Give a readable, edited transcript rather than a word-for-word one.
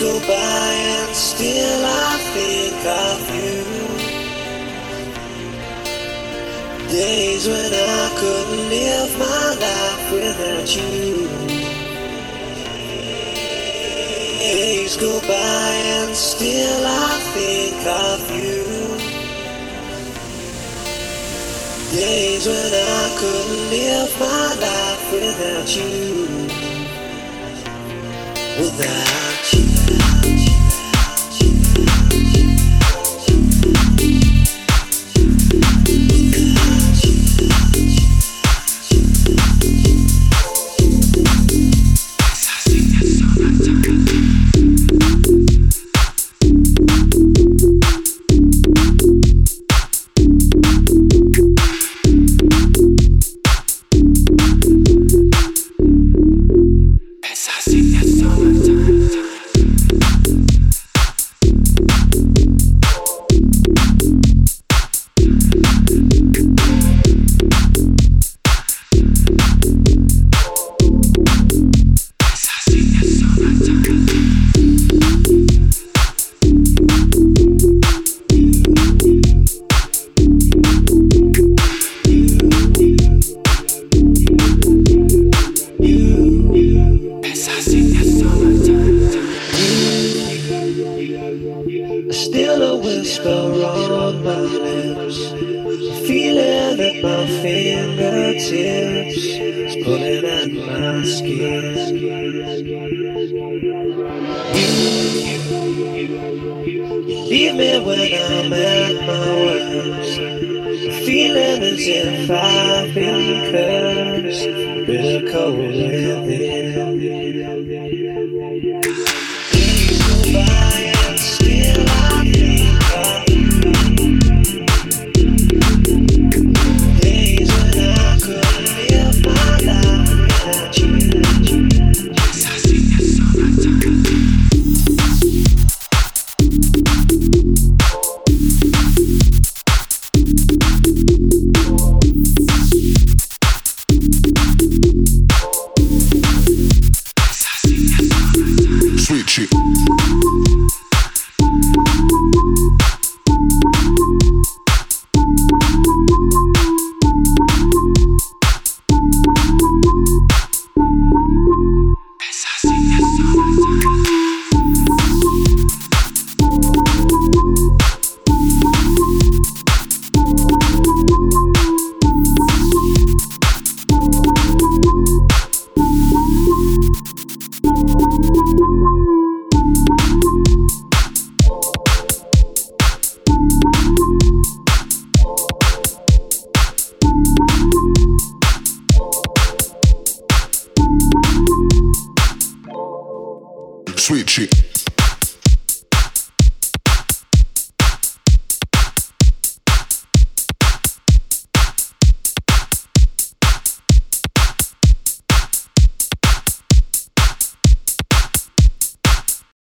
go by and still I think of you. Days when I couldn't live my life without you. Days go by and still I think of you. Days when I couldn't live my life without you. Without you. Still a whisper on my lips, feeling at my fingertips, it's pulling at my skin. You leave me when I'm at my worst, feeling as if I've been cursed, bitter cold within. Days go by and still I think of you. Days when I couldn't live my life without you. Sweet shit. Sweet shit.